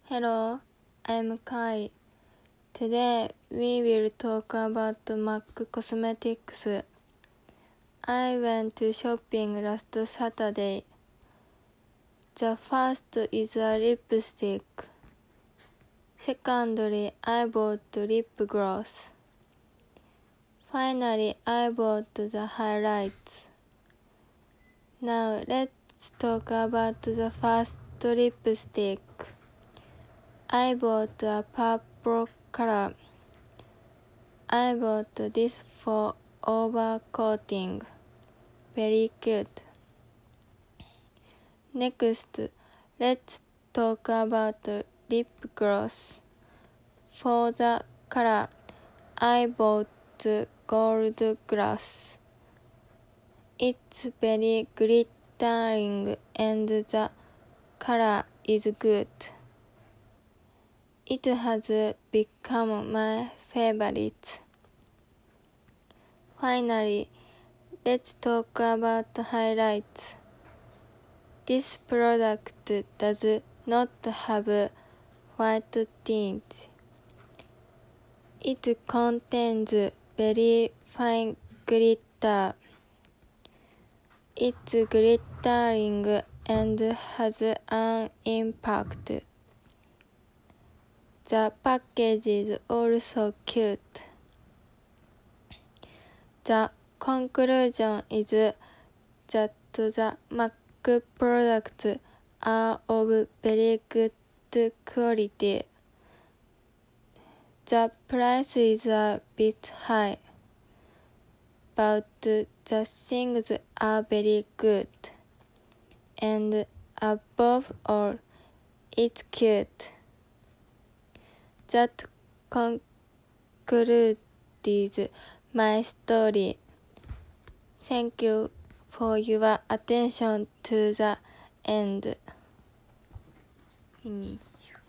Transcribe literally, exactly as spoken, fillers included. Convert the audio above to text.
Hello, I'm Kai. Today we will talk about MAC Cosmetics. I went to shopping last Saturday. The first is a lipstick. Secondly, I bought lip gloss. Finally, I bought the highlights. Now let's talk about the first lipstick. I bought a purple color. I bought this for overcoating. Very cute. Next, let's talk about lip gloss. For the color, I bought gold gloss. It's very glittering and the color is good. It has become my favorite. Finally, let's talk about highlights. This product does not have white tint. It contains very fine glitter. It's glittering and has an impact. The package is also cute. The conclusion is that the MAC products are of very good quality. The price is a bit high, but the things are very good. And above all, it's cute. That concludes my story. Thank you for your attention to the end. Finish.